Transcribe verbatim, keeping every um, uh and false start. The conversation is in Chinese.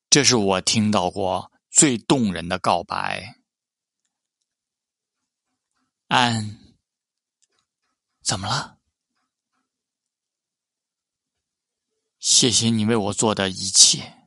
这是我听到过最动人的告白。安，怎么了？谢谢你为我做的一切。